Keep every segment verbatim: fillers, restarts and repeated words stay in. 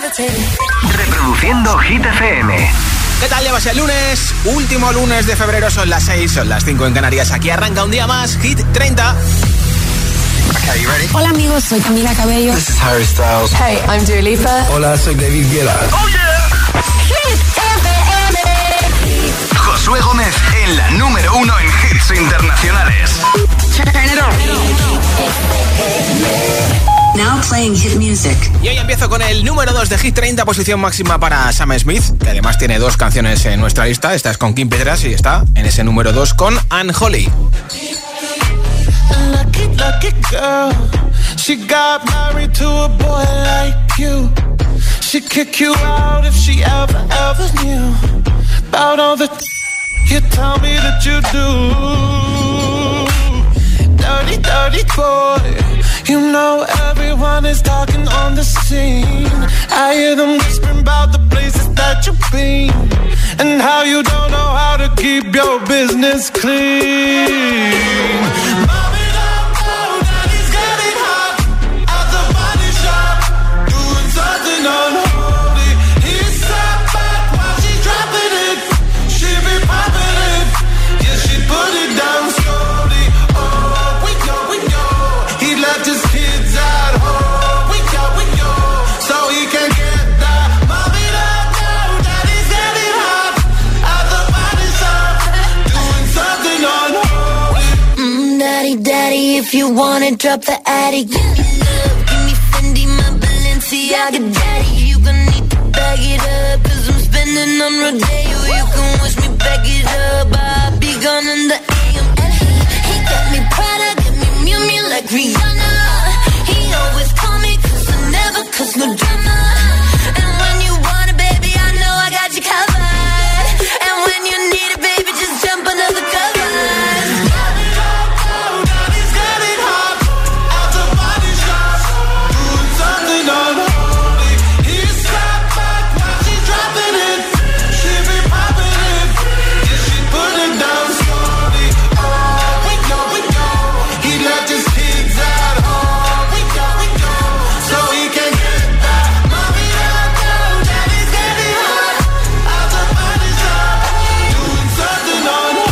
Reproduciendo Hit F M. ¿Qué tal? Llevas el lunes, último lunes de febrero, son las seis, son las cinco en Canarias. Aquí arranca un día más, Hit treinta. Okay, you ready? Hola amigos, soy Camila Cabello. This is Harry Styles. Hey, I'm Dua Lipa. Hola, soy David Guetta. Oh yeah. Hit F M. Josué Gómez en la número uno en hits internacionales. Turn it on. Now playing hit music. Y hoy empiezo con el número dos de Hit treinta, posición máxima para Sam Smith, que además tiene dos canciones en nuestra lista. Esta es con Kim Petras y está en ese número dos con Unholy. Lucky, lucky girl. She got married to a boy like you. She'd kick you out if she ever, ever knew about all the th- you tell me that you do. Dirty, dirty boy. You know everyone is talking on the scene. I hear them whispering about the places that you've been and how you don't know how to keep your business clean. Mom it up now, daddy's getting hot at the body shop, doing something unholy. He sat back while she's dropping it. She be popping it, yeah, she put it down slowly. Oh, we know, we know. He left his kids at home. We know, we know. So he can get that. Mom it up now, daddy's getting hot at the body shop, doing something unholy. Mm, daddy, daddy, if you want it, drop the attic. Give me love, give me Fendi, my Balenciaga daddy. You gon' need to bag it up, cause I'm spending on Rodeo. You can wish me back it up, I'll be gone in the A M. And he, he got me Prada, got me Miu Miu like Rihanna. He always call me cause I never cause no drama. And when you want it, baby, I know I got you covered. And when you need it, baby, just jump under the covers. Mom it up now, daddy's getting hot at the body shop, doing something unholy. He sat back while she's dropping it. She be popping it, yeah, she put it down slowly. Oh, we know, we know. He left his kids at home. We know, we know. So he can get that. Mom it up now, daddy's getting hot at the body shop, doing something unholy.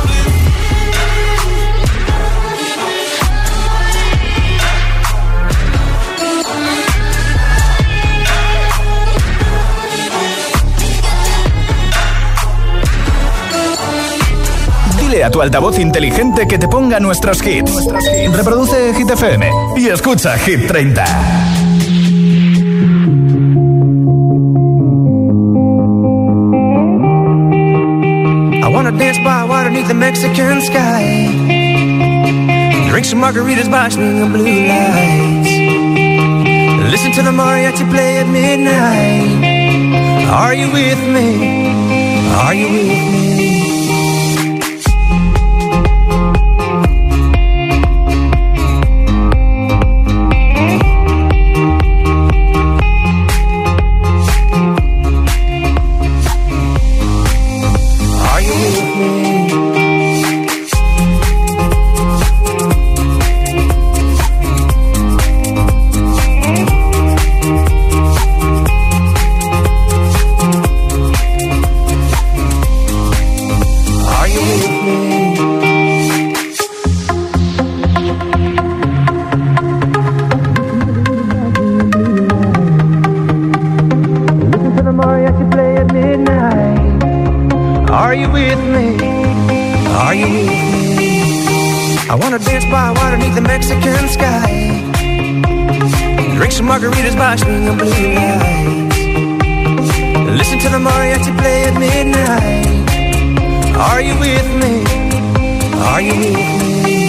Dile a tu altavoz inteligente que te ponga nuestros hits. Reproduce Hit F M y escucha Hit treinta. I wanna dance by water beneath the Mexican sky. Drink some margaritas by swinging blue lights. Listen to the mariachi play at midnight. Are you with me? Are you with me? Margaritas by swinging blue lights. Listen to the mariachi play at midnight. Are you with me? Are you with me?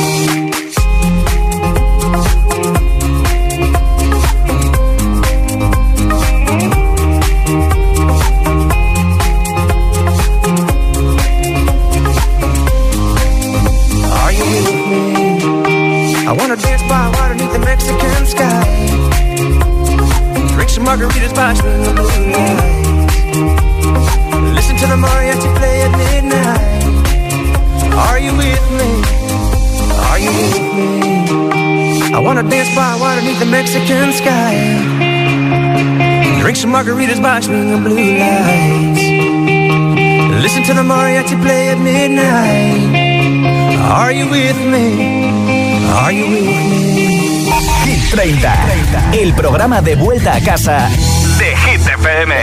Are you with me? I wanna dance by water beneath the Mexican sky. Drink some margaritas by swinging blue lights. Listen to the mariachi play at midnight. Are you with me? Are you with me? I wanna dance by water beneath the Mexican sky. some margaritas by swinging blue lights. Listen to the mariachi play at midnight. Are you with me? Are you with me? Hit treinta, el programa de vuelta a casa de Hit F M.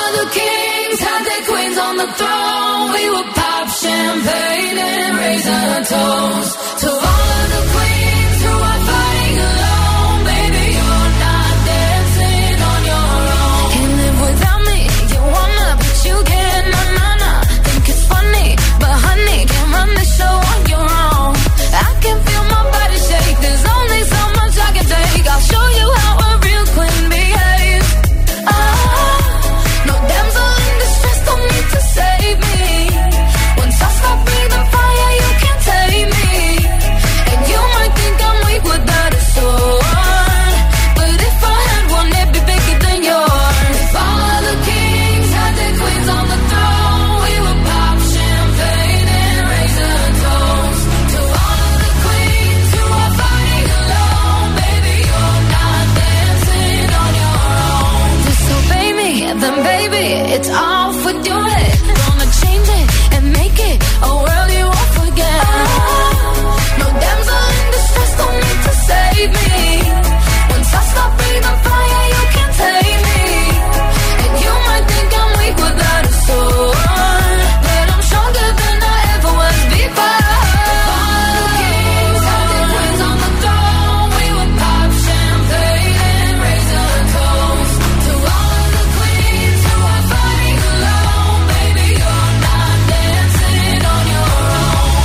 We would pop champagne and raise a toast to all of the queens who are fighting alone. Baby, you're not dancing on your own. Can't live without me, you wanna, but you can't. Na na na, think it's funny, but honey, can't run the show on your own. I can feel my body shake. There's only so much I can take. I'll show you how a real queen behaves. Ah, no damsel in distress, don't need to save me. I stop breathing fire, you can't take me. And you might think I'm weak without a sword, but if I had one, it'd be bigger than yours. If all of the kings had their queens on the throne, we would pop champagne and raise a toast to all of the queens who are fighting alone. Baby, you're not dancing on your own. Disobey me, then baby, it's off with your head. Gonna change it and make it a world you won't forget. No damsel in distress, don't need to save me. Once I stop breathing fire, you can't take me. And you might think I'm weak without a sword, but I'm stronger than I ever was before. All the kings had their queens on the throne. We would pop champagne and raise a toast to all of the queens who are fighting alone. Baby, you're not dancing on your own.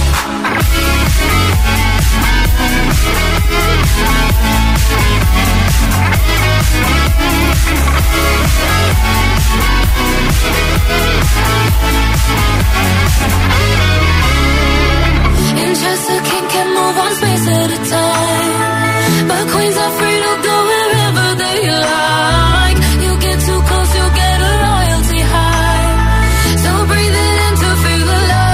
In Chester King can move one space at a time, but queens are free to go wherever they like. You get too close, you get a royalty high. So breathe it in to feel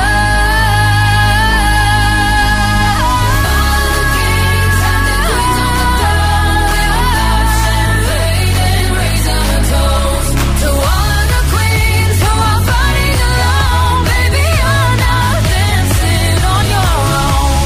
alive. All the kings have their queens on the throne. We will pop champagne and raise a toast to all of the queens who are fighting alone. Baby, you're not dancing on your own.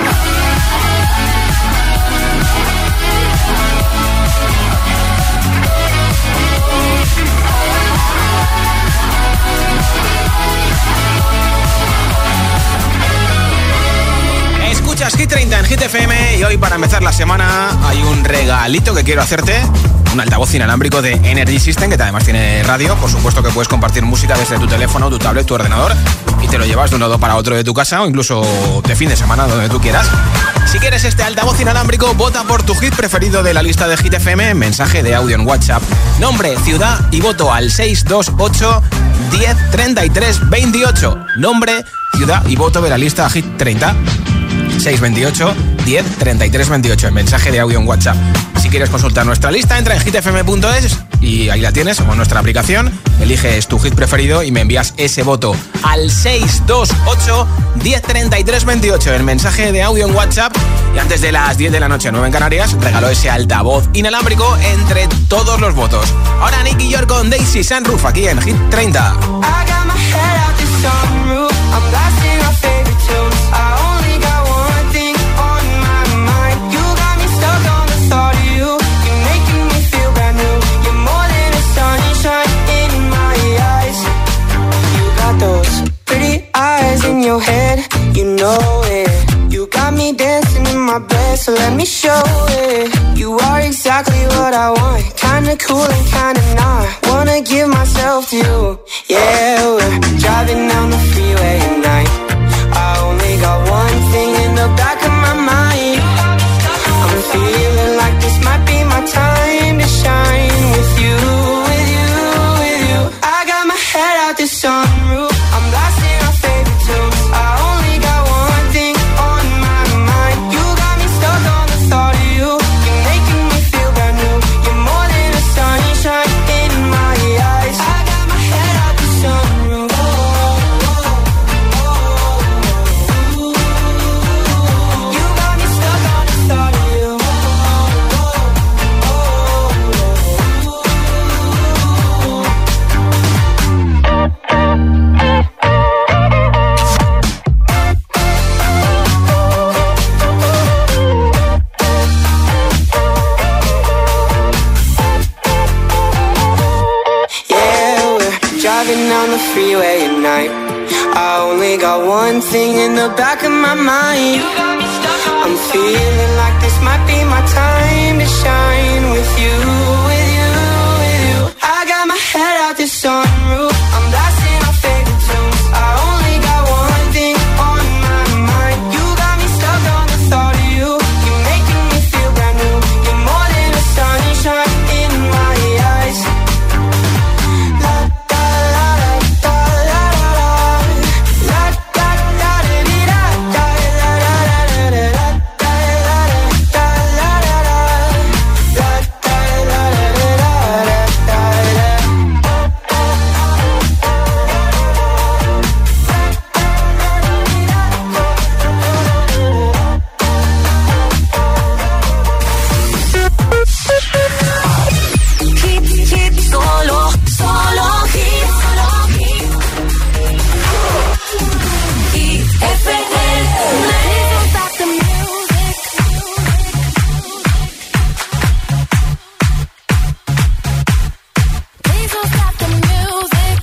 Escuchas Hit treinta en Hit F M y hoy para empezar la semana hay un regalito que quiero hacerte. Un altavoz inalámbrico de Energy System que además tiene radio. Por supuesto que puedes compartir música desde tu teléfono, tu tablet, tu ordenador y te lo llevas de un lado para otro de tu casa o incluso de fin de semana donde tú quieras. Si quieres este altavoz inalámbrico, vota por tu hit preferido de la lista de Hit F M. Mensaje de audio en WhatsApp, nombre, ciudad y voto al seis dos ocho, diez, treinta y tres, veintiocho. Nombre, ciudad y voto de la lista Hit treinta. seis dos ocho, diez, treinta y tres, veintiocho. En mensaje de audio en WhatsApp. Si quieres consultar nuestra lista, entra en hit f m punto es y ahí la tienes, o en nuestra aplicación. Eliges tu hit preferido y me envías ese voto al seis dos ocho, diez, treinta y tres, veintiocho. En mensaje de audio en WhatsApp. Y antes de las diez de la noche, nueve en Canarias, regaló ese altavoz inalámbrico entre todos los votos. Ahora Nicky York con Daisy Sunroof aquí en Hit treinta. In your head, you know it. You got me dancing in my bed, so let me show it. You are exactly what I want, kinda cool and kinda not. Wanna give myself to you. Yeah, we're driving down the freeway at night. I only got one thing in the back of my mind. I'm feeling like this might be my time to shine with you, with you, with you. I got my head out the sunroof. I'm blasting our favorite tunes. I only got one thing on my mind. You got me stuck on the thought of you. You're making me feel brand new. You're more than a sunshine in my eyes. I got my head out the sunroof. Oh, oh, oh. driving down the freeway at night. I only got one thing in the back of my mind. I'm feeling like this might be my time to shine with you, with you, with you. I got my head out the sunroof. I'm blasting our favorite tunes. I only got one thing on my mind. You got me stuck on the thought of you. You're making me feel brand new. You're more than a sunshine in my eyes. La da la da la la la da da da di da da la la la la la da la da la la la la da la la la la. Hit, hit, solo, solo hit, solo hit. Hit F M. Don't stop the music. Please don't stop the music.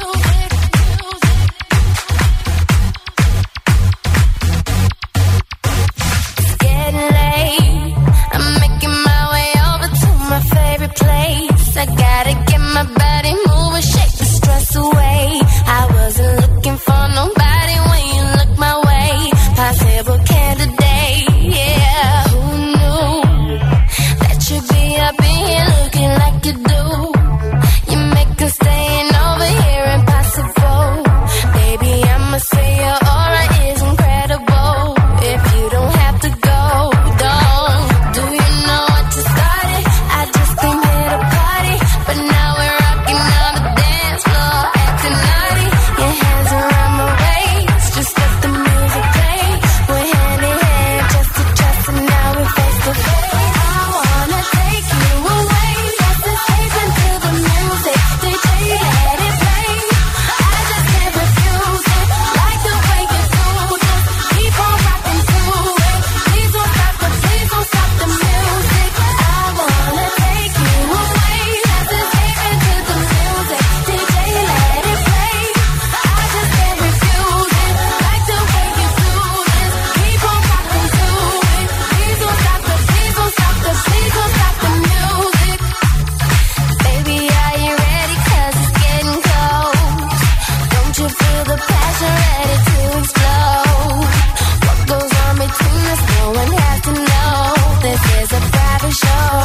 It's getting late. I'm making my way over to my favorite place. I gotta get my body moving, shake the stress away. I wasn't looking for nobody when you look my way. Possible candidate, yeah. Who knew that you'd be up in here looking like you do? You make us staying over here impossible. Baby, I'ma say your aura is incredible. If you don't have to go, don't. Do you know what you started? I just came here to party, but now we're rocking on the dance floor, acting naughty. Your hands around my waist, just let the music play. We're hand in hand, just to trust, and now we're face to face. I wanna take you away, let's escape into the music. D J, let it play. I just can't refuse it, like the way you do this. Keep on rocking to it. Please don't stop the, please don't stop the music. I wanna take you away, let's escape into the music. D J, let it play. I just can't refuse it, like the way you do this. Keep on rocking to it. Please don't stop the, please don't stop the, please don't stop the music. Baby, are you ready? 'Cause it's getting cold. Don't you feel the passion ready to explode? What goes on between us, no one has to know. This is a private show.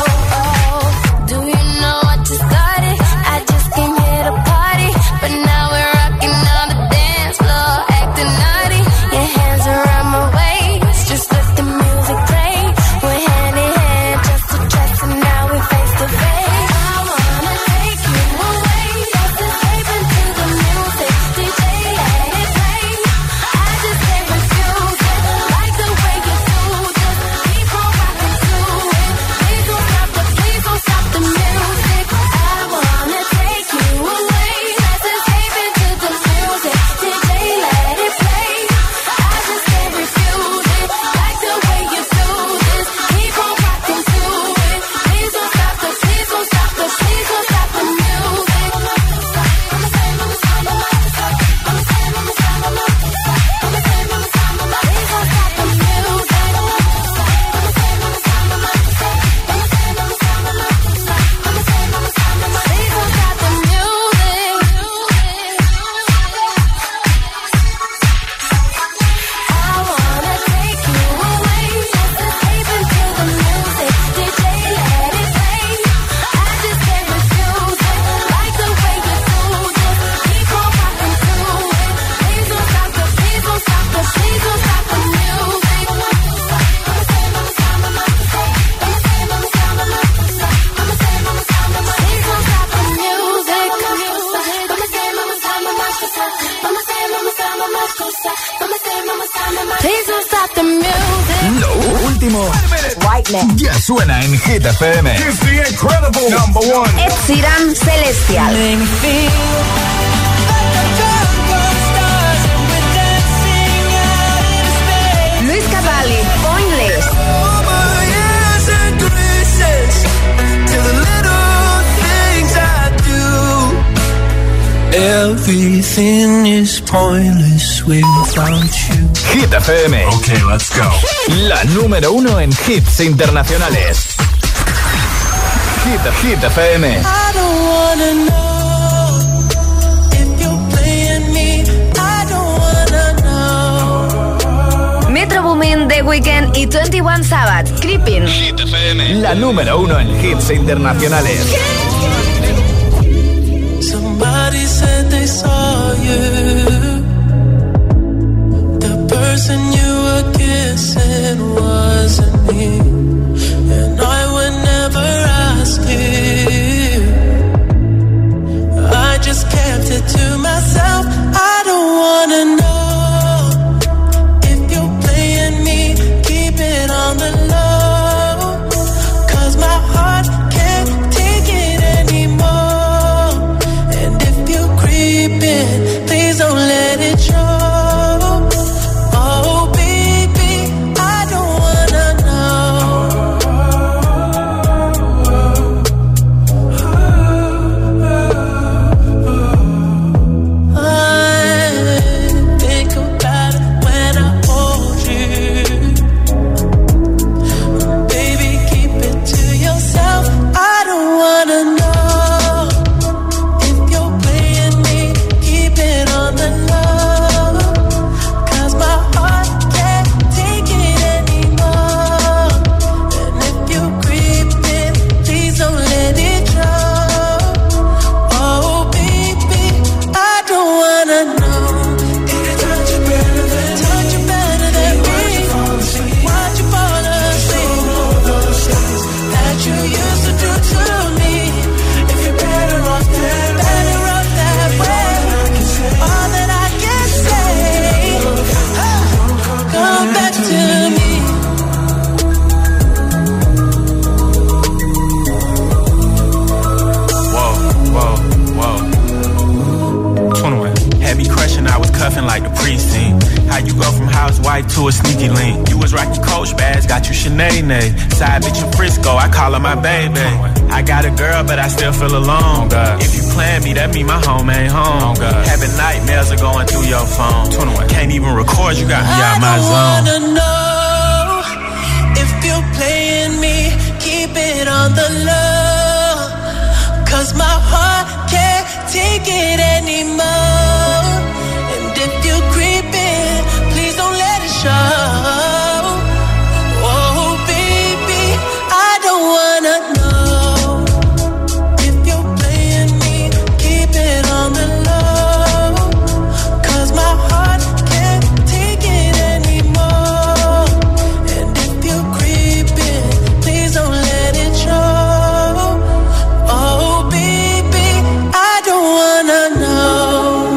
Do you know what you started? I just came here to party, but now we're rocking on the dance floor, acting naughty. Your hands around my waist, just let the music play. We're hand in hand, just to trust, and now we're face to face. I wanna take you away, let's escape into the music. D J, let it play. I just can't refuse it, like the way you do this. Keep on rocking to it. Please don't stop the, please don't stop the music. I wanna take you away, let's escape into the music. D J, let it play. I just can't refuse it, like the way you do this. Keep on rocking to it. Please don't stop the, please don't stop the, please don't stop the music. Please don't stop the music. Lo último ya suena en Hit F M. It's the incredible number one. Ed Sheeran, Celestial. Luis Capaldi, Pointless. Everything is pointless without you. Hit F M. Okay, let's go. La número uno en hits internacionales. Hit, Hit F M. I don't wanna know if you're playing me. I don't wanna know. Metro Boomin, The Weeknd y veintiuno Savage, Creeping. Hit F M. La número uno en hits internacionales. Somebody said they saw you. The person you were kissing wasn't me. And I would never ask you. I just kept it to myself. I don't wanna know if you're playing me. Keep it on the low. 'Cause my heart can't take it anymore. And if you're creeping, please don't let it show. Oh baby, I don't wanna know. I think about it when I hold you. Baby, keep it to yourself. I don't wanna know if you're playing me. Keep it on the low. 'Cause my heart can't take it anymore. And if you're creeping, please don't let it show. Oh baby, I don't wanna know. If you touch it better than touch it better than me. Watch you fall asleep. That you used to do to me. If you're better off that, better off that way. All that I can say, ah, come back to me. Whoa, whoa, whoa. twenty-one. Had me crushing, I was cuffing like the precinct. How you go from housewife to a sneaky link? You was Rocky Coach bags, got you Sinead. Side bitch in Frisco, I call her my baby. I got a girl, but I still feel alone. If you plan me, that mean my home ain't home. Having nightmares are going through your phone. twenty-one. Can't even record, you got me out my I zone. don't wanna know if you're playing me. Keep it on the low. 'Cause my heart can't take it anymore. And if you're creeping, please don't let it show. Oh baby, I don't wanna know if you're playing me. Keep it on the low. 'Cause my heart can't take it anymore. And if you're creeping, please don't let it show. Oh baby, I don't wanna know.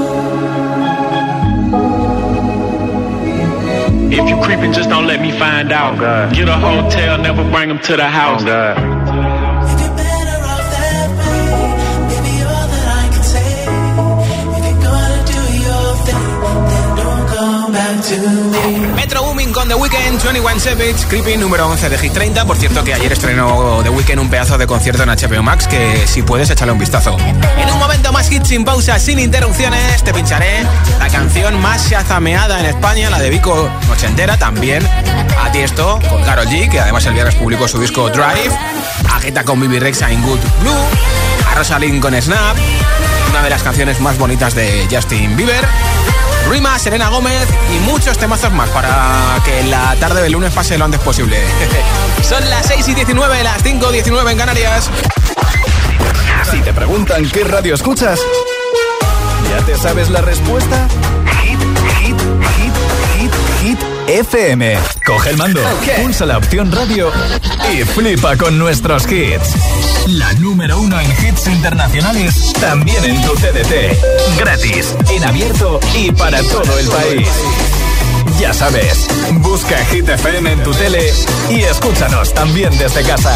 If you creeping, just don't let me find out. Get a hotel, never bring them to the house. If you're better off that way, maybe all that I can say. If you're gonna do your thing, then don't come back to me. Metro Booming con The Weeknd, veintiuno Savage, Creepy, número once de Hit treinta. Por cierto, que ayer estrenó The Weeknd un pedazo de concierto en H B O Max, que si puedes échale un vistazo. En un momento más hits sin pausa, sin interrupciones, te pincharé la canción más shazameada en España, la de Vico Nochentera, también a Tiesto con Karol G, que además el viernes publicó su disco Drive, a Guetta con Bibi Rexha in Good Blue, a Rosalind con Snap, una de las canciones más bonitas de Justin Bieber, Rima, Selena Gómez y muchos temazos más para que la tarde del lunes pase lo antes posible. Son las seis y diecinueve, las cinco y diecinueve en Canarias. Si te preguntan qué radio escuchas, ¿ya te sabes la respuesta? Hit, hit, hit, hit, hit F M. Coge el mando, okay. Pulsa la opción radio y flipa con nuestros hits. La número uno en hits internacionales, también en tu T D T. Gratis, en abierto y para todo el país. Ya sabes, busca Hit F M en tu tele y escúchanos también desde casa.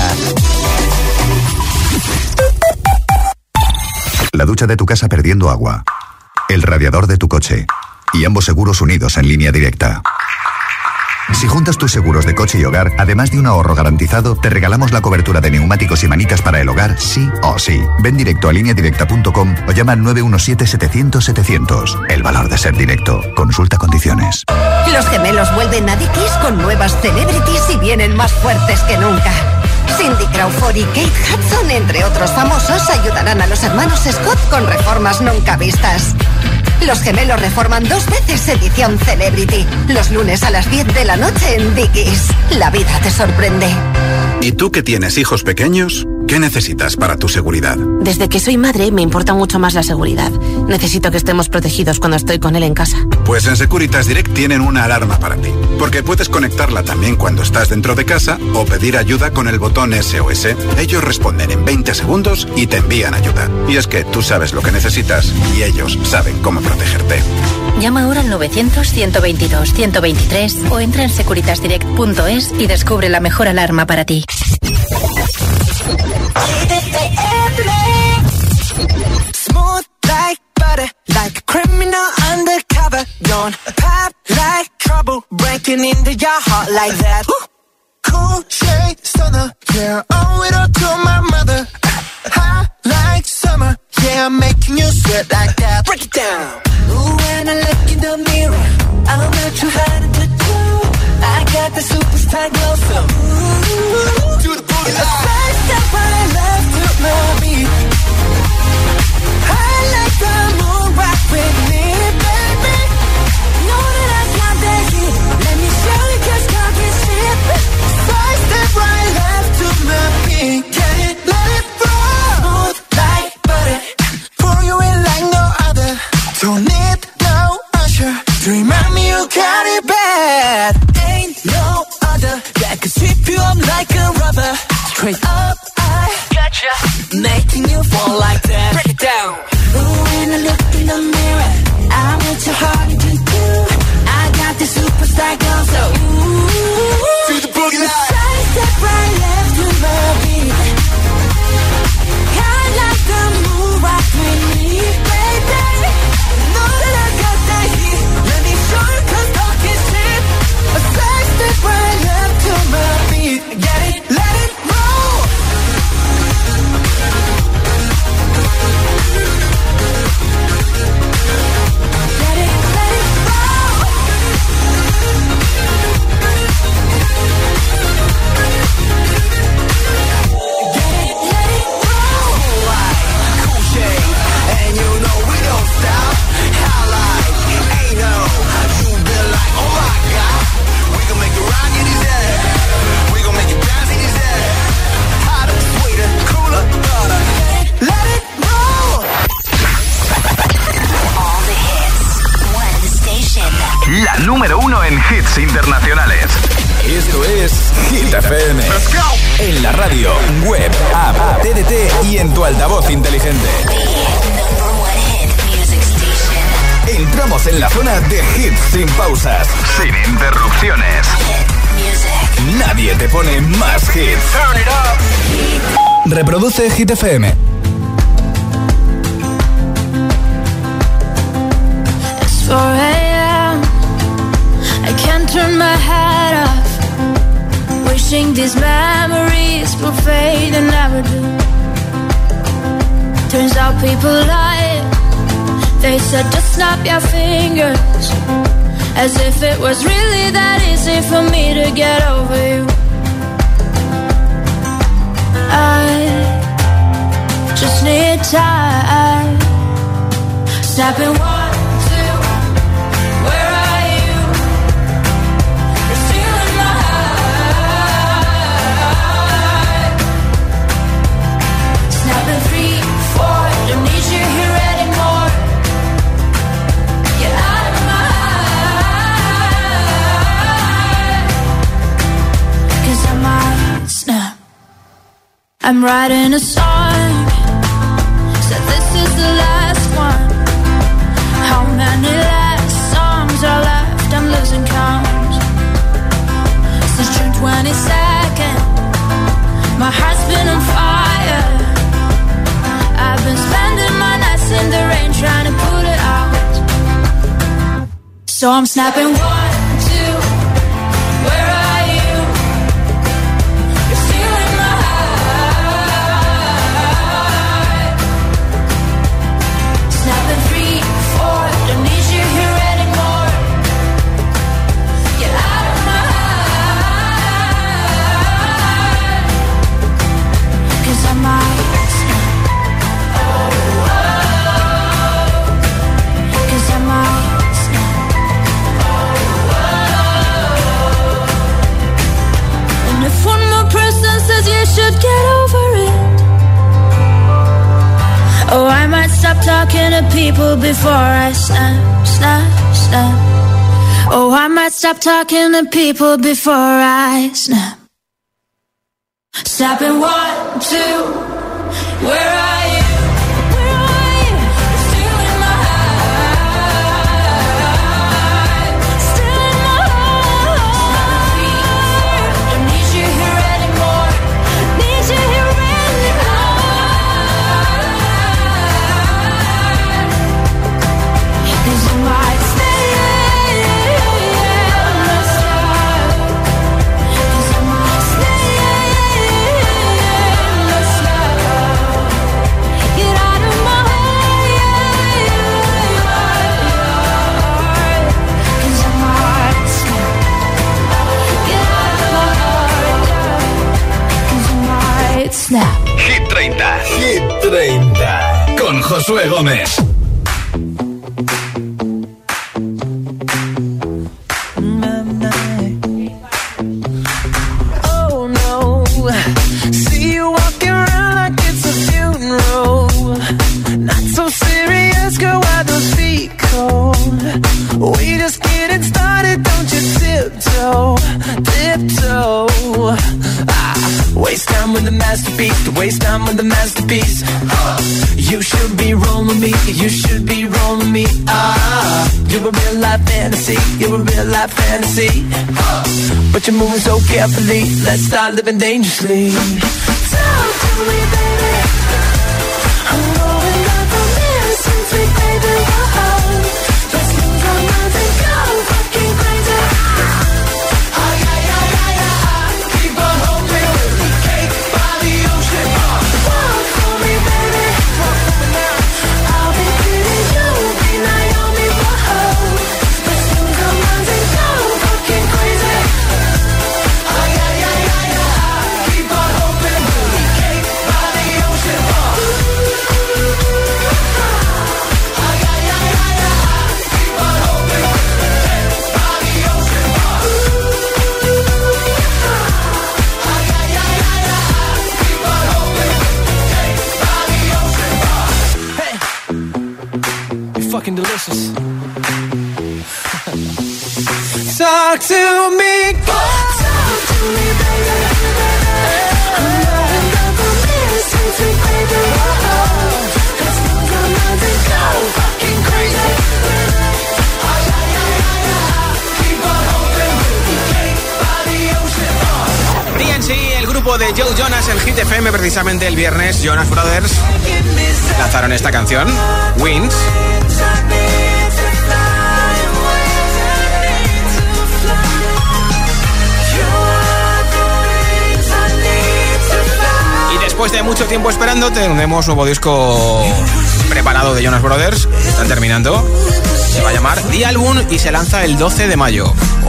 La ducha de tu casa perdiendo agua, el radiador de tu coche y ambos seguros unidos en línea directa. Si juntas tus seguros de coche y hogar, además de un ahorro garantizado, te regalamos la cobertura de neumáticos y manitas para el hogar, sí o sí. Ven directo a línea directa punto com o llama al nueve uno siete, setecientos, setecientos. El valor de ser directo. Consulta condiciones. Los gemelos vuelven a Dickies con nuevas celebrities y vienen más fuertes que nunca. Cindy Crawford y Kate Hudson, entre otros famosos, ayudarán a los hermanos Scott con reformas nunca vistas. Los gemelos reforman dos veces edición Celebrity. Los lunes a las diez de la noche en Dickies. La vida te sorprende. ¿Y tú que tienes hijos pequeños? ¿Qué necesitas para tu seguridad? Desde que soy madre me importa mucho más la seguridad. Necesito que estemos protegidos cuando estoy con él en casa. Pues en Securitas Direct tienen una alarma para ti. Porque puedes conectarla también cuando estás dentro de casa o pedir ayuda con el botón S O S. Ellos responden en veinte segundos y te envían ayuda. Y es que tú sabes lo que necesitas y ellos saben cómo protegerte. Llama ahora al novecientos, ciento veintidós, ciento veintitrés o entra en securitas direct punto es y descubre la mejor alarma para ti. Smooth like butter, like a criminal undercover. Don't pop like trouble, breaking into your heart like that. Cool shade stunner, yeah, owe it all to my mother. Hot like summer, yeah, I'm making you sweat like that. Break it down. Ooh, when I look in the mirror, I'm not too hard to do. I got the superstar glow, so ooh, do the booty line. First step right left to my beat. I like the moon rock with me, baby. Know that I got that heat. Let me show you 'cause cock is cheap. First step right left to my beat. Get it, let it roll. Smooth like butter. Pour you in like no other. Don't need no usher to remind me you got it bad. Ain't no other that could sweep you up like a rubber. Straight up, I gotcha, making you fall like that. Break it down. Ooh, when I look in the mirror, I'm what your heart to do. I got the superstar girl, so ooh, do the boogie line. Side step right left to my beat. I like the move rock with me, baby. Know that I got that heat. Let me show you 'cause talk is cheap. A side step right left to my beat. Get it, let it roll. Get it, let it roll. Get it, let it roll. Cool shade, and you know we don't stop. How like, ain't no, you been like, oh my God. We gon' make it rock in his head. We gon' make it bounce in his head. Hotter, sweeter, cooler, butter. Let it roll. All the hits, one station. La número uno en hits internacionales. Esto es Hit F M. Let's go. En la radio, web, app, T D T y en tu altavoz inteligente. Entramos en la zona de hits sin pausas, sin interrupciones. Nadie te pone más hits. Turn it up. Reproduce Hit F M. It's four a.m. I can't turn my head off. Wishing these memories will fade and never do. Turns out people lie. They said just snap your fingers. As if it was really that easy for me to get over you. I just need time. Snapping one, two, where are you? You're still in my heart. Snapping three, four, don't need you here anymore. Get out of my heart. 'Cause I might snap. I'm writing a song. Said this is the last one. How many last songs are left? I'm losing count. Since June twenty-second, my heart's been on fire. I've been spending my nights in the rain trying to put it out. So I'm snapping one, two, Oh, I might stop talking to people before I snap, snap, snap. Oh, I might stop talking to people before I snap. Snap in one, two, where are you? Hit treinta. Hit treinta. Con Josué Gómez. Oh no. See you walking around like it's a funeral. Not so serious, girl, why those feet cold? We just getting started, don't you tiptoe, tiptoe. Waste time with the masterpiece, to waste time with the masterpiece. Uh, you should be rolling me, you should be rolling me. Ah, you're a real life fantasy, you're a real life fantasy. Uh, but you're moving so carefully, let's start living dangerously. Talk to me, baby. I'm rolling up from here, sweet, sweet baby. Whoa, let's lose our minds and go fucking crazy. Ay, ay, ay, ay, ay, keep on hoping. Fucking delicious. Talk to me, talk to me, baby. I'm rolling up on this, sweet, sweet baby. Whoa, let's lose our minds and go fucking crazy. Ay, ay, ay, ay, ay, keep on hoping we can't by the ocean. D N C, el grupo de Joe Jonas en Hit F M, precisamente el viernes, Jonas Brothers lanzaron esta canción, Wings. Y después de mucho tiempo esperando, tenemos nuevo disco preparado de Jonas Brothers. Están terminando. Se va a llamar The Album y se lanza el doce de mayo.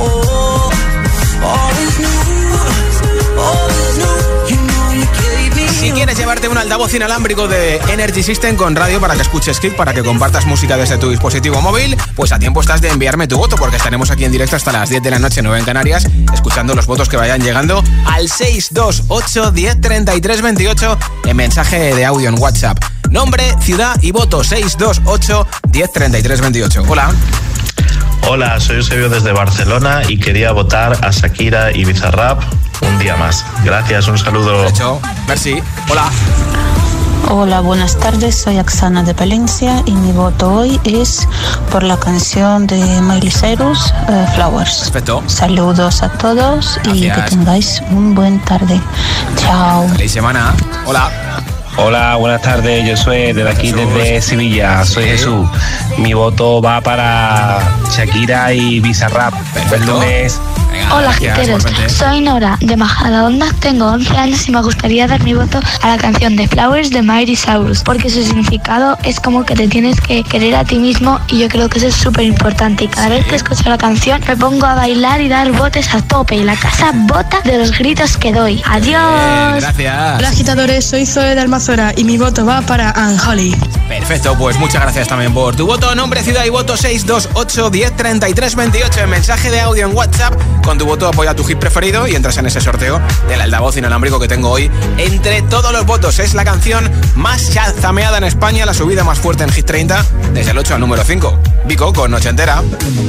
Si quieres llevarte un altavoz inalámbrico de Energy System con radio para que escuches Hit, para que compartas música desde tu dispositivo móvil, pues a tiempo estás de enviarme tu voto, porque estaremos aquí en directo hasta las diez de la noche, nueve en Canarias, escuchando los votos que vayan llegando al seis dos ocho, diez, treinta y tres, veintiocho en mensaje de audio en WhatsApp. Nombre, ciudad y voto seis dos ocho, diez, treinta y tres, veintiocho. Hola. Hola, soy Eusebio desde Barcelona y quería votar a Shakira y Bizarrap un día más. Gracias, un saludo. Hecho. Merci. Hola. Hola, buenas tardes, soy Oksana de Palencia y mi voto hoy es por la canción de Miley Cyrus, uh, Flowers. Perfecto. Saludos a todos. Gracias. Y que tengáis un buen tarde. Chao. Feliz semana. Hola. Hola, buenas tardes, yo soy desde aquí, Jesús. Desde Sevilla, soy sí. Jesús. Mi voto va para Shakira y Bizarrap. El lunes. Hola, giteros, soy Nora de Majadahonda, tengo once años y me gustaría dar mi voto a la canción de Flowers de Miley Cyrus, porque su significado es como que te tienes que querer a ti mismo y yo creo que eso es súper importante, y cada sí. vez que escucho la canción me pongo a bailar y dar botes a tope y la casa bota de los gritos que doy. ¡Adiós! Bien, gracias. Hola, agitadores, soy Zoe de Almazora y mi voto va para Anne Holly. Perfecto, pues muchas gracias también por tu voto. Nombre, ciudad y voto seis dos ocho, diez, treinta y tres, veintiocho. En mensaje de audio en WhatsApp. Con tu voto apoya tu hit preferido y entras en ese sorteo del altavoz inalámbrico que tengo hoy. Entre todos los votos es la canción más chazameada en España, la subida más fuerte en Hit treinta, desde el ocho al número cinco. Vico con Noche Entera.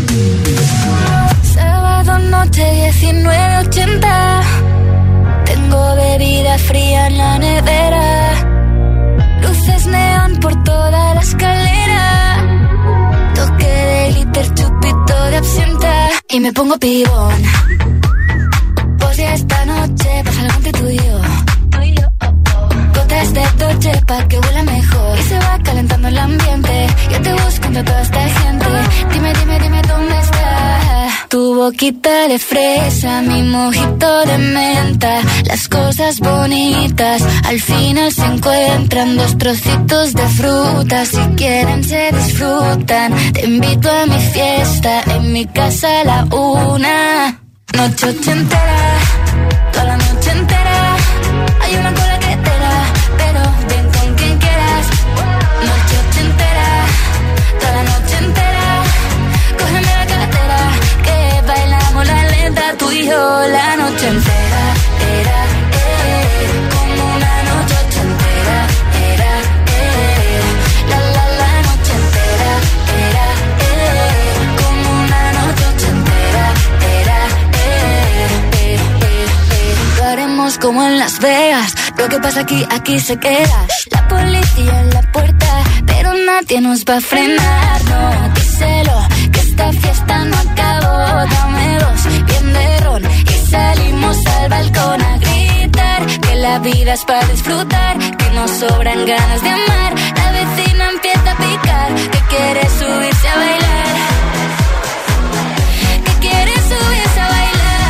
Sábado noche diecinueve ochenta. Tengo bebida fría en la nevera. Luces neón por toda la escalera. Toque de glitter, chupito de absenta. Y me pongo pibón. Pues ya esta noche pasa algo entre tú y yo. Gotas de Dolce pa' que huela mejor. Y se va calentando el ambiente. Yo te busco entre toda esta gente. Dime, dime, dime dónde está. Tu boquita de fresa, mi mojito de menta. Las cosas bonitas al final se encuentran. Dos trocitos de fruta, si quieren se disfrutan. Te invito a mi fiesta, en mi casa a la una. Noche ochentera, toda la noche entera. Hay una cola que te da, pero ven con quien quieras. Noche ochentera, toda la noche entera. Cógeme la cartera, que bailamos la lenta. Tú y yo la noche entera. Era, eh, como una noche ochentera. Era, eh, la la la noche entera. Era, eh, como una noche ochentera. Era, eh, eh, eh, eh. Lo haremos como en Las Vegas. Lo que pasa aquí, aquí se queda. La policía en la puerta, pero nadie nos va a frenar. No, díselo, que esta fiesta no acabó. Dame dos, bien de ron, y salimos al balcón a gritar. Que la vida es para disfrutar, que nos sobran ganas de amar. La vecina empieza a picar, que quiere subirse a bailar. Que quiere subirse a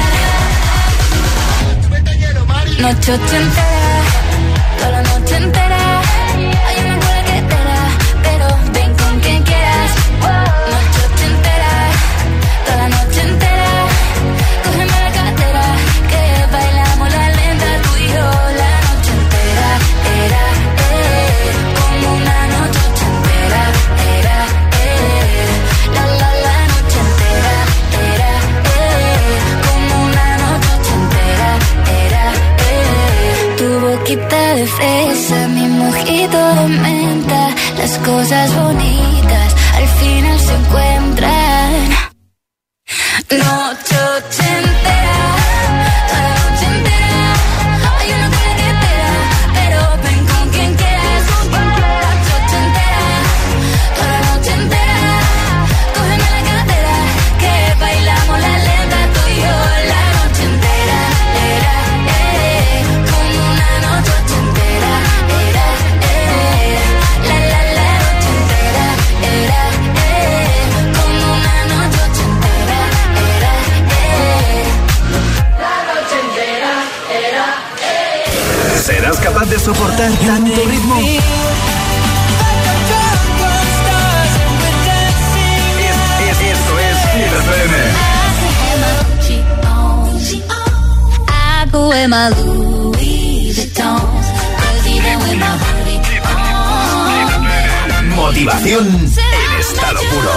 bailar. Noche ochentera, toda la noche entera. Hay una cola que te da, pero ven con quien quieras. Noche ochentera, toda la noche entera. Cógeme la cartera, que bailamos la lenta. Tú y yo la noche entera. Era, eh, como una noche ochentera. Era, eh, la la la noche entera. Era, eh, como una noche ochentera. Era, eh, tu boquita de fresa, mi mojito de menta. Las cosas bonitas al final se encuentran. Noche ochentera, toda la noche entera. Hay una cola que te da, pero ven con quien quieras. Noche ochentera, toda la noche entera. Cógeme la cartera, que bailamos la lenta. Tú y yo la noche entera. Era, eh, como una noche ochentera. Era, eh, la la la noche entera. Era, eh, como una noche ochentera. Era, eh, la noche entera. Era, eh. ¿Serás capaz de soportar tanto ritmo? Esto es Hit F M. I go in my Louis Vuitton, 'cause even with my hoodie on. Motivación en estado puro.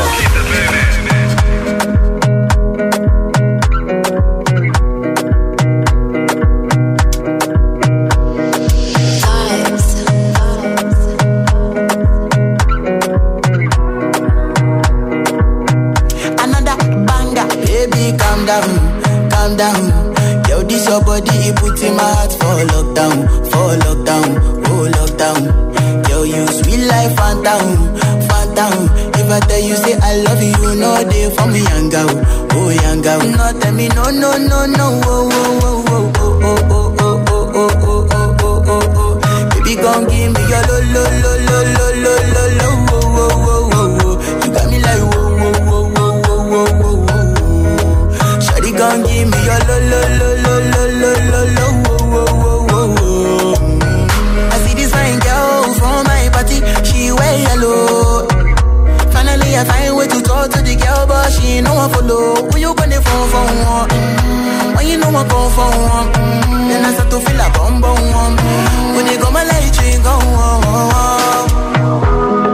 Another banger, baby, calm down, calm down. Yo, this your body, it puts in my heart for lockdown, for lockdown, oh lockdown. Yo, you sweet life, phantom, phantom. If I tell you say I love you, you know they for me, young girl, oh young girl. No, tell me no, no, no, no, oh, oh, oh, oh, oh, oh, oh, oh, oh, oh, oh, oh, oh, oh. Baby, gon' give me your lo, lo, lo, lo, lo, lo, lo, lo, oh, oh, oh, oh, oh. You got me like whoa, whoa, whoa, whoa, whoa, whoa, whoa, whoa. Shawty gon' give me your lo, lo, lo, lo, lo, lo, lo, lo, oh, oh, oh, oh, oh. I see this fine girl from my party, she wear yellow. Finally I find way to talk to the girl, but she ain't no one follow. Who you gonna phone for one? Mm-hmm. When you know I come for one, mm-hmm. Then I start to feel a bum bum one. Mm-hmm. When they go my light, you go on.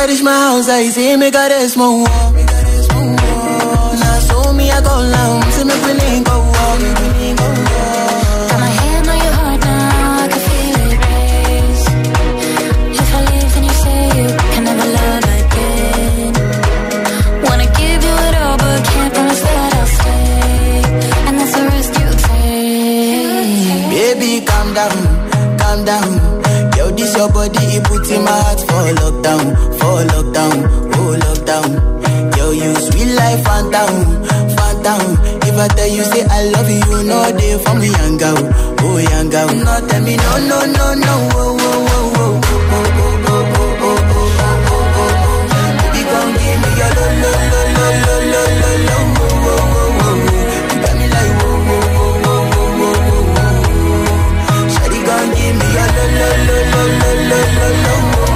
reach my house, I see me got a small wall. Now so me I go down, see me feeling go walk. Got my hand on your heart now, I can feel it race. If I leave then you say you can never love again. Wanna give you it all but can't promise that I'll stay. And that's the risk you take. Baby calm down, calm down. Yo, this your body, it puts in my heart for lockdown, for lockdown, oh lockdown. Yo, you sweet life, phantom, phantom. If I tell you say I love you, you know they for me, young girl, oh young girl. No, tell me no, no, no, no, oh, oh, oh, oh, oh, oh, oh, oh, oh, oh, oh, oh. Baby, come give me your lo, lo, lo, lo, lo, lo, lo, lo, oh, oh, oh, oh. You got me like oh, oh, oh, oh, oh, oh, oh. Shawty, come give me your lo, lo, lo, lo, lo, lo, lo, lo, oh, oh, oh, oh.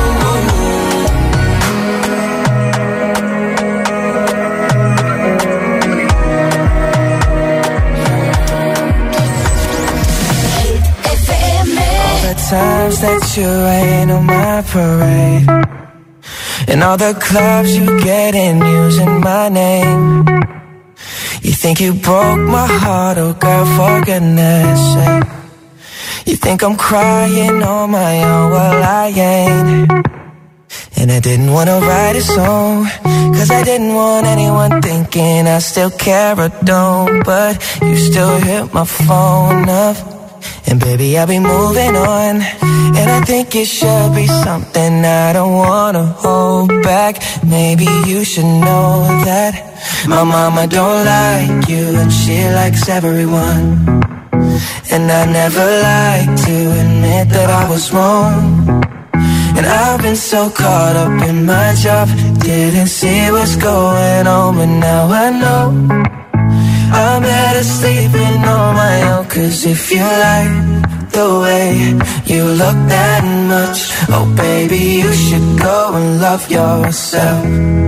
Times that you rain on my parade, and all the clubs you get in using my name. You think you broke my heart, oh girl, for goodness sake. You think I'm crying on my own, well I ain't. And I didn't wanna write a song, cause I didn't want anyone thinking I still care or don't. But you still hit my phone up, and baby, I'll be moving on. And I think it should be something I don't wanna hold back. Maybe you should know that my mama don't like you, and she likes everyone. And I never like to admit that I was wrong. And I've been so caught up in my job, didn't see what's going on, but now I know I'm better sleeping on my own. Cause if you like the way you look that much, oh baby, you should go and love yourself.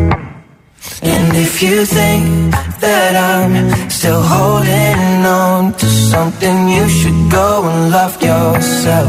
And if you think that I'm still holding on to something, you should go and love yourself.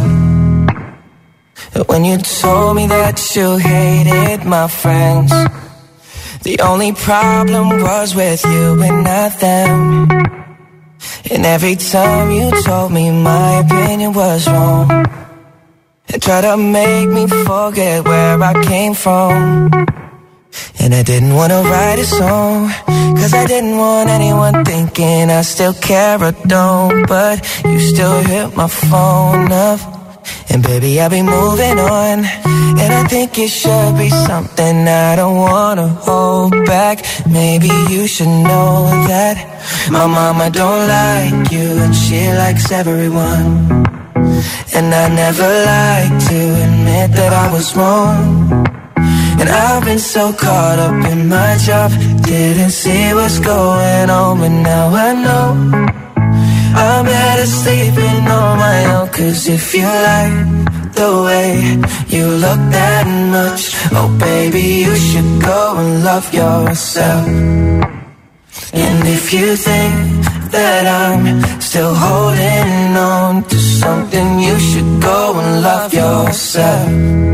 When you told me that you hated my friends, the only problem was with you and not them. And every time you told me my opinion was wrong, and tried to make me forget where I came from. And I didn't want to write a song, cause I didn't want anyone thinking I still care or don't. But you still hit my phone up, and baby, I'll be moving on. And I think it should be something I don't wanna hold back. Maybe you should know that my mama don't like you, and she likes everyone. And I never like to admit that I was wrong. And I've been so caught up in my job, didn't see what's going on, but now I know I'm better sleeping on my own. Cause if you like the way you look that much, oh baby, you should go and love yourself. And if you think that I'm still holding on to something, you should go and love yourself.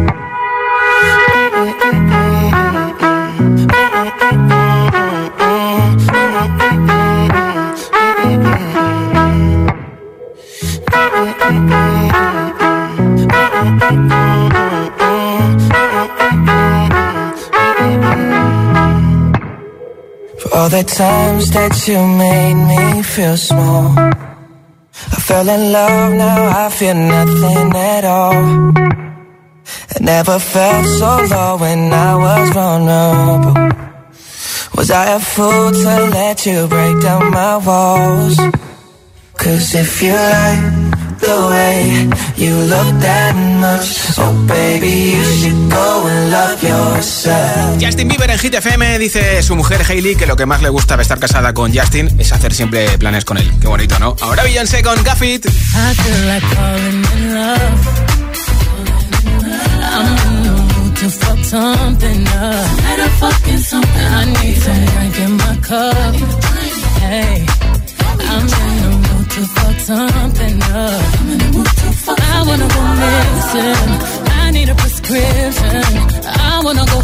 For all the times that you made me feel small, I fell in love, now I feel nothing at all. I never felt so low when I was vulnerable. Was I a fool to let you break down my walls? Cause if you like the way you look that much, oh baby, you should go and love yourself. Justin Bieber en Hit F M dice su mujer Hailey que lo que más le gusta de estar casada con Justin es hacer siempre planes con él. Qué bonito, ¿no? Ahora Beyoncé con Gaffit. I feel like falling in love. I'm in the mood to fuck something up. Better fucking something. I need some drink in my cup. Hey, I'm in the mood to fuck something up. I'm in the mood to fuck I wanna go missing. I need a prescription. I wanna go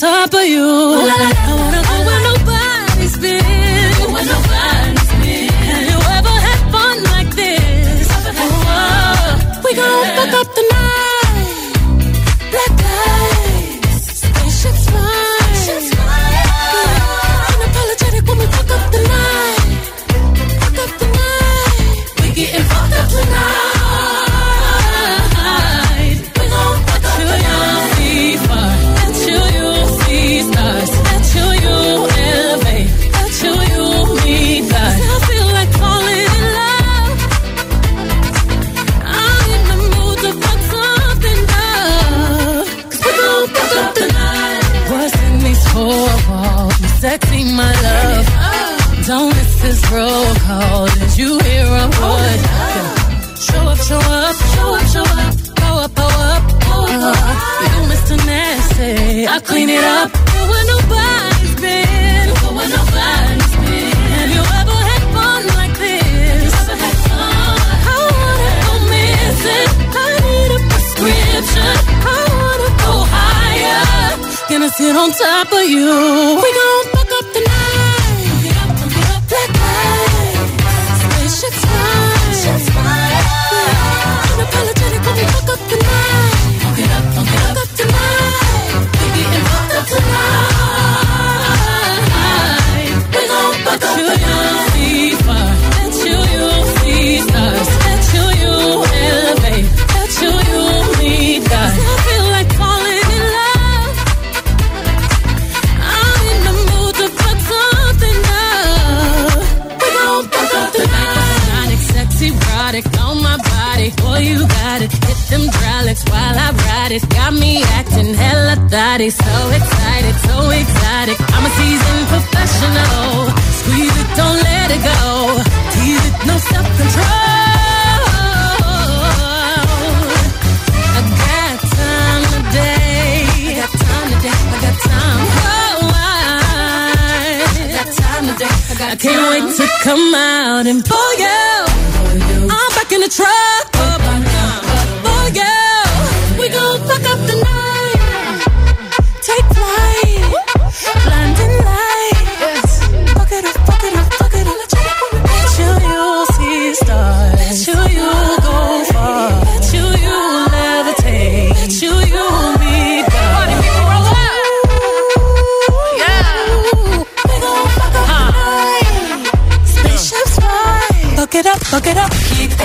top of you. I wanna go where nobody's been. Go where nobody's been. Have you ever had fun like this? Oh, we gon' fuck up the night. Black eyes, spaceships fly. Yeah. Unapologetic when we fuck up the night. Fuck up the night. We getting fucked up tonight. Sexy, my love. Don't miss this roll call. Did you hear a word? Show up, show up, show up, show up. Pow up, pow up, pow up. You Mister Nasty, I clean it up. Go where nobody's been. Go where nobody's been. Have you ever had fun like this? Ever had fun? I wanna go missing. I need a prescription. I wanna go higher. Gonna sit on top of you. We gon' fuck up the night. Get up, get up, black eyes. Spaceships fly. Yeah. Unapologetic when we fuck up the night. Don't get up, don't get up, up tonight. We getting fucked up tonight. We gon' fuck up the night. See fire. Let you, you see stars. Let you, you elevate. Let you, you lead God. I feel like falling in love. On my body, boy, you got it. Hit them hydraulics while I ride it. Got me acting hella thotty. So excited, so exotic. I'm a seasoned professional. Squeeze it, don't let it go. Tease it, no self-control. I got time today. I got time today. I got time. Oh, I, I got time today. I, got I can't time. Wait to come out and pull you. I'm back in the truck. Up, oh yeah, we gon' fuck up the night. Take flight, blinding lights. Fuck it up, fuck it up, fuck it up. Bet you you'll see stars. Bet you you'll go far. Bet you you'll levitate. Bet you you'll be God. Party people roll out. Yeah, we gon' fuck up huh. the night. Spaceships fly. Fuck it up, fuck it up.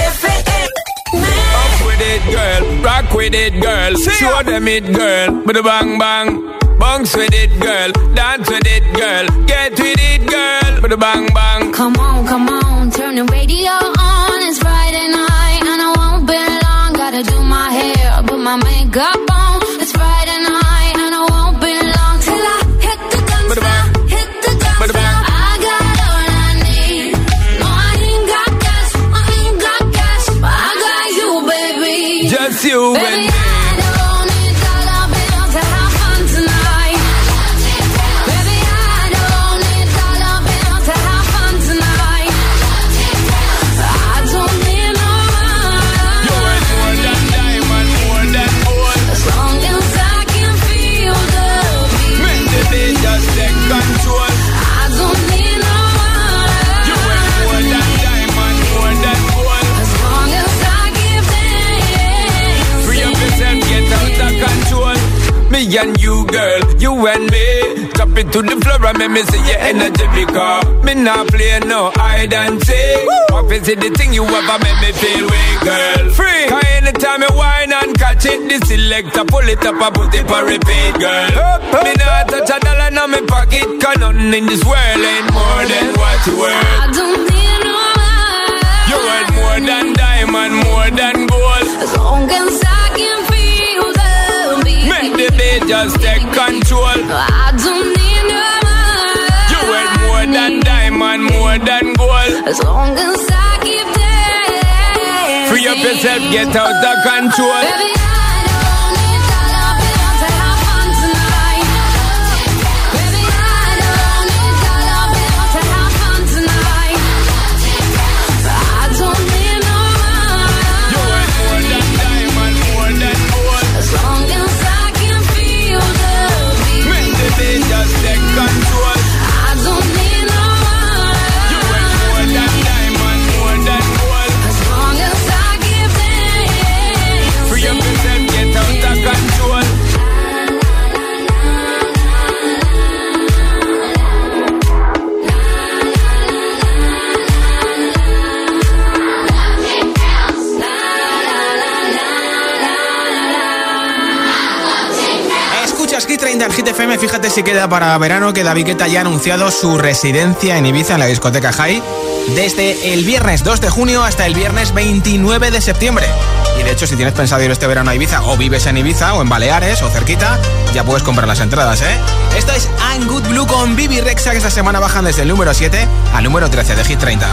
Up with it, girl. Rock with it, girl. Show them it, girl. With a bang bang. Bounce with it, girl. Dance with it, girl. Get with it, girl. With a bang bang. Come on, come on. Turn the radio on. It's Friday night and I won't be long. Gotta do my hair, put my makeup on. It's Friday night and I won't be long till I hit the dance floor. Hit the dance floor. I got all I need. No, I ain't got cash. I ain't got cash, but I got you, baby. Just you, baby. Me and you, girl, you and me. Drop it to the floor and make me see your energy because me not play no hide and seek. What is it the thing you ever make me feel weak, girl? Free. Cause anytime you whine and catch it, the selector pull it up and put it for repeat, girl. Up, up, me not touch a dollar in my pocket cause nothing in this world ain't more than what you worth. I don't need no money. You worth more than diamond, more than gold. As long as I can feel the beat. Make the beat just take control. I don't need no money. You worth more than diamond, more than gold. As long as I keep dancing. Free up yourself, get out of control. Baby, I don't need dollar bills to have fun tonight. Baby, I don't need dollar bills to have fun tonight. I don't need no money. You worth more than diamond, more than gold. As long as I can feel the beat. Make the Escuchas Hit treinta en Hit F M. Fíjate si queda para verano que David Guetta ya ha anunciado su residencia en Ibiza, en la discoteca High, desde el viernes dos de junio hasta el viernes veintinueve de septiembre. Y de hecho, si tienes pensado ir este verano a Ibiza, o vives en Ibiza, o en Baleares, o cerquita, ya puedes comprar las entradas, ¿eh? Esto es I'm Good Blue con Bibi Rexha, que esta semana bajan desde el número siete al número trece de Hit treinta.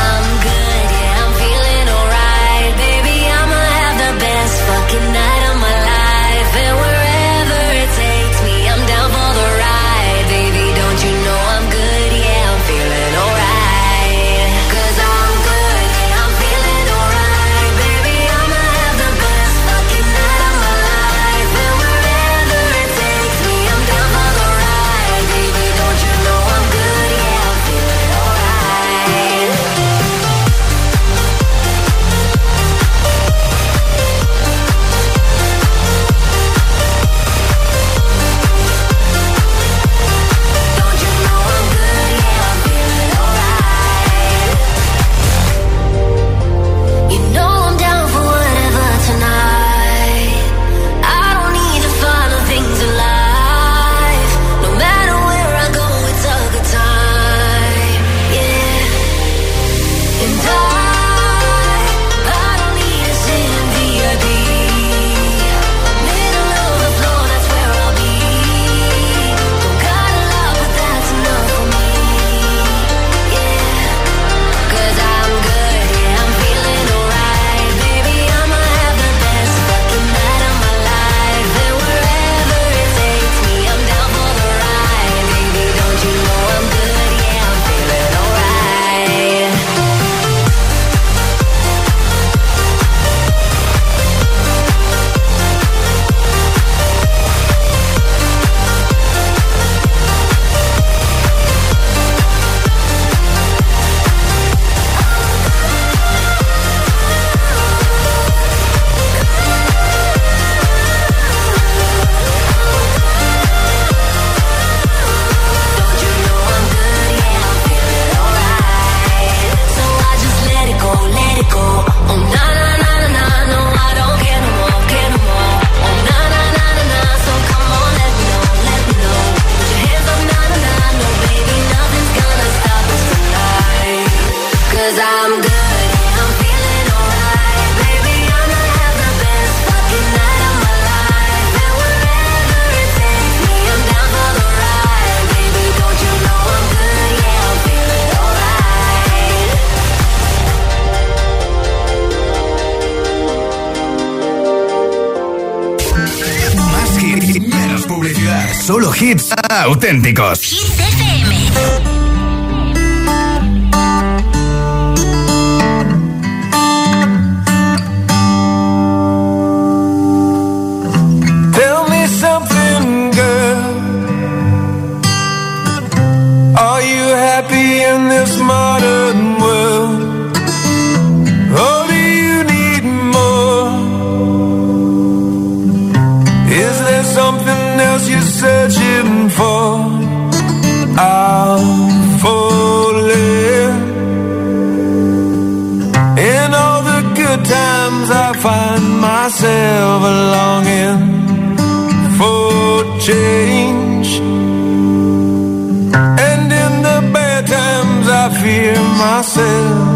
Solo hits auténticos. Hit F M. Searching for, I'm falling. In all the good times I find myself longing for change, and in the bad times I fear myself.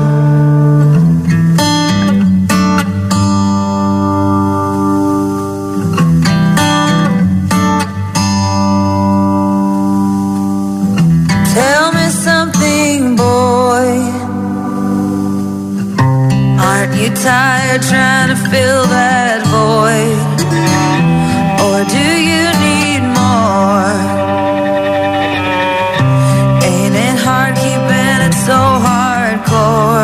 Tired trying to fill that void, or do you need more? Ain't it hard keeping it so hardcore?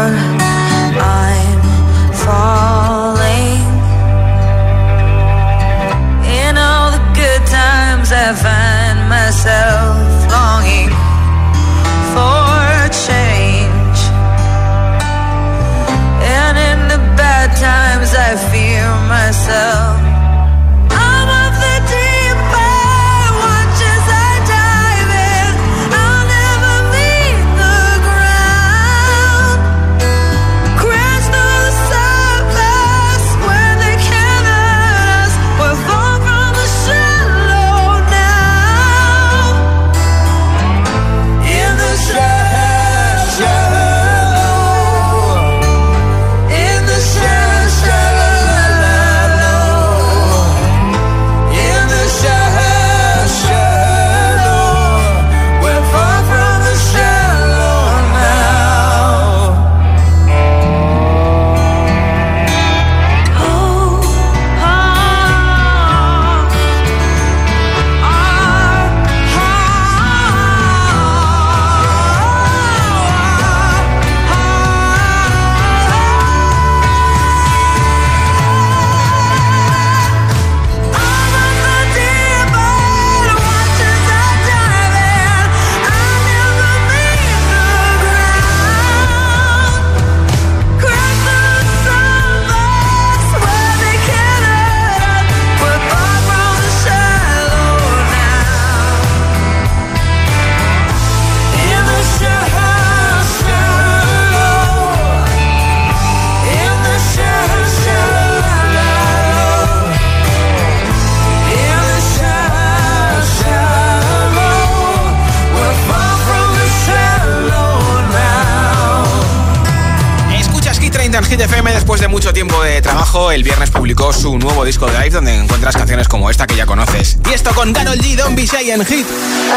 de trabajo, el viernes publicó su nuevo disco Drive, donde encuentras canciones como esta que ya conoces. Y esto con Karol G, Don't Be Shy en Hit.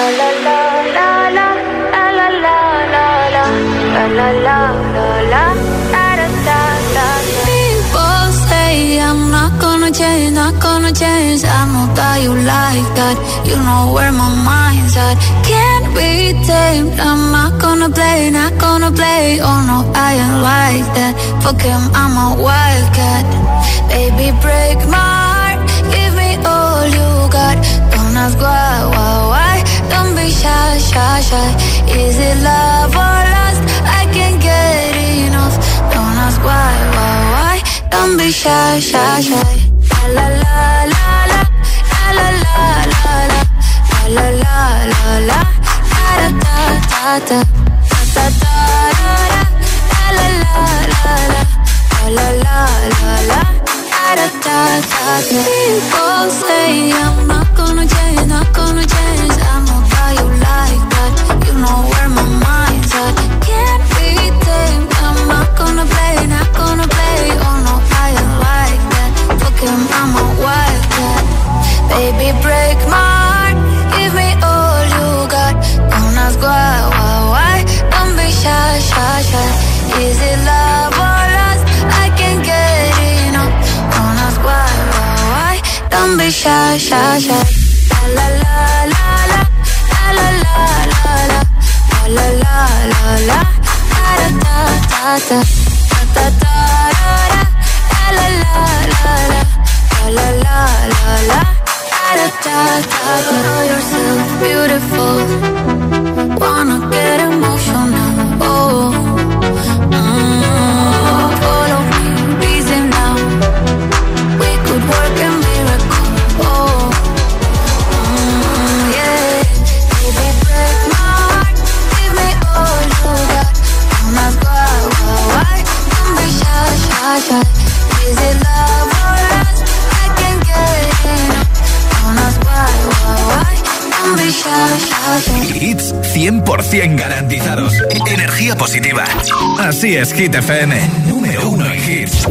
People say I'm not gonna change, not gonna change. I know that you like that. You know where my mind's at. Can't be tamed. I'm not gonna play, not gonna play. Oh no, I ain't like that. Fuck him, I'm a wildcat. Baby, break my heart. Give me all you got. Don't ask why, why, why. Don't be shy, shy, shy. Is it love or lust? I can't get enough. Don't ask why, why, why. Don't be shy, shy, shy. La la la la, la la la la la, la la la la, da da da da, da da da da, la la la la, la la la la, da da da da. People say I'm not gonna change, not gonna change. I know how you like that. You know where my mind's at. Can't be tamed. I'm not gonna play, not gonna play. Oh no, I ain't like that. Fuck him, I'm a wildcat. Baby, break my heart. Give me all you got. Don't ask why, why, why. Don't be shy, shy, shy. Is it love or lust? I can't get enough. Don't ask why, why, why. Don't be shy, shy, shy. La la la la, la la la la la, la la la la, da da da da, da da da da, la la la la, la la la la, da da da da. Know yourself beautiful. Wanna get emotional. Oh, mm, follow me, reason now. We could work a miracle. Oh, mm, yeah. Baby, break my heart. Give me all you got. Don't ask why, why, why. Don't be shy, shy, shy. Is it love or lust? I can't get enough. Don't ask why, why, why. Don't be shy, shy, shy. Hits cien por ciento garantizados. Energía positiva. Así es, Hit F M. Número uno en hits.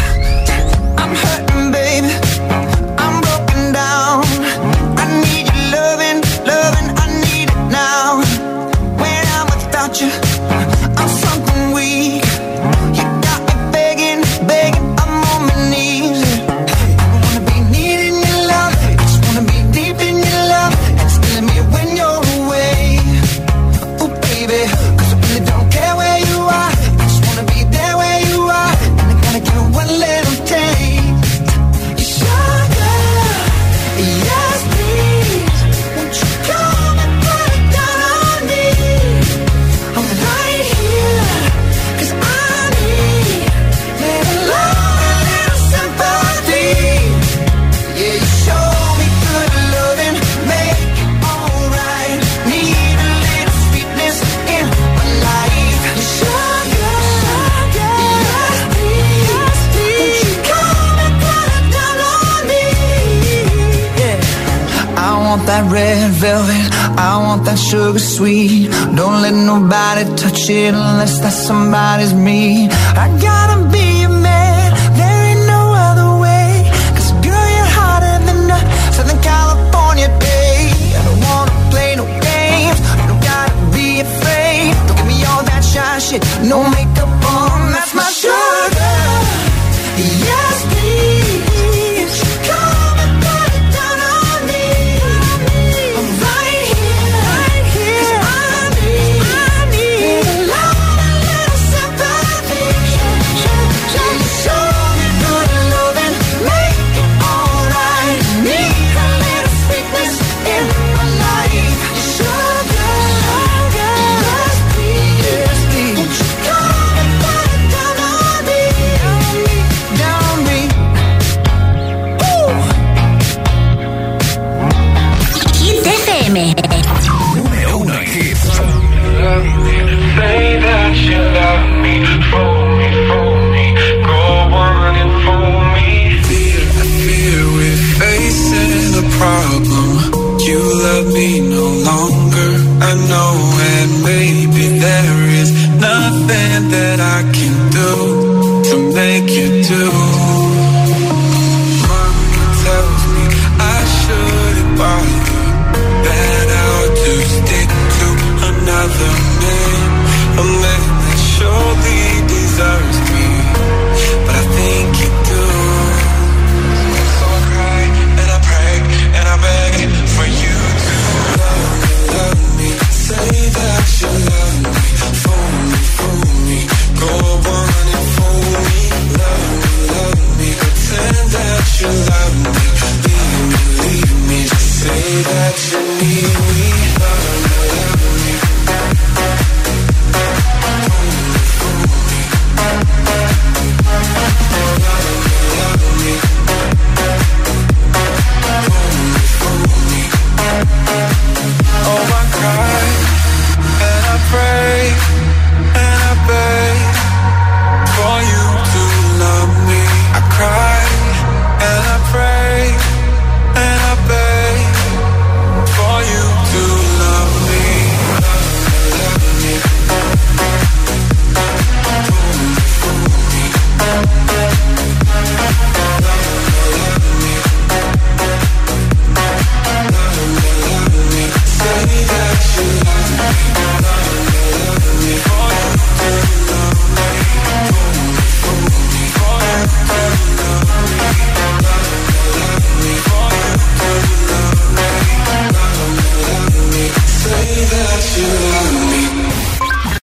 I'm hurting, baby. I'm broken down. I need your loving, loving. I need it now. When I'm without you, I'm something weak. You got me begging, begging. I'm on my knees. I wanna be needing your love. I just wanna be deep in your love. And it's killing me when you're away. Oh, baby, 'cause I really don't care where you are. I just wanna be there where you are. And I gotta give one little taste. You sugar, yes please. Won't you come and put it down on me? I'm right here, 'cause I need little love and little sympathy. Yeah, you show me good loving, make it alright. Need a little sweetness in my life. You sugar, yes please. Won't you come and put it down on me? Yeah. I want that red velvet, I want that sugar sweet. Don't let nobody touch it unless that somebody's me. I gotta be a man, there ain't no other way. 'Cause girl, you're hotter than a Southern California day. I don't wanna play no games, you don't gotta be afraid. Don't give me all that shy shit, no makeup on, that's my sugar. Yes, please. Come and put it down on me. I'm right here, right here. 'Cause I need, I need little love and little sympathy. Yeah, you show me good loving, make it alright. Need a little sweetness in my life. Sugar, yes please. Won't you come and put it down on me? Down on me. Ooh. Hit F M. Número uno en hits. Say that you love me, fool me, fool me, go on and fool me. Fear, I fear we're facing a problem. You love me no longer, I know it.